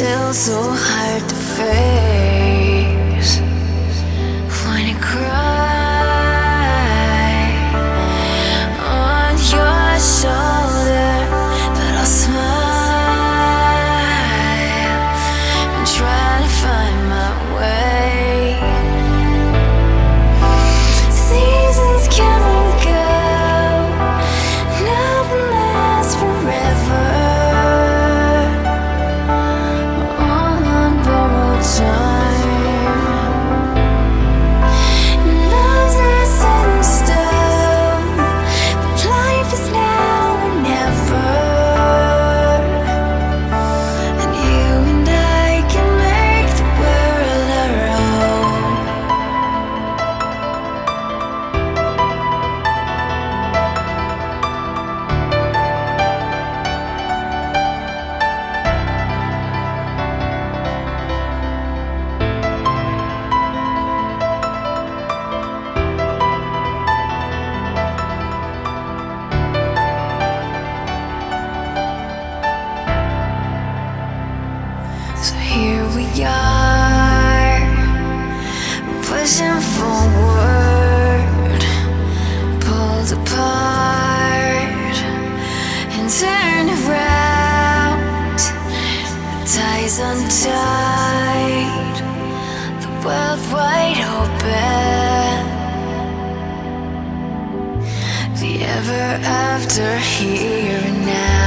still so hard to face. When you cry on your shoulder, but I'll smile and try to find my way. Seasons come and go, nothing lasts forever. All on borrowed time. Love's not set in stone, but life is now or never. And you and I can make the world our own. So here we are, pushing forward, pulled apart and turned around. The ties untied, the world wide open, the ever after here and now.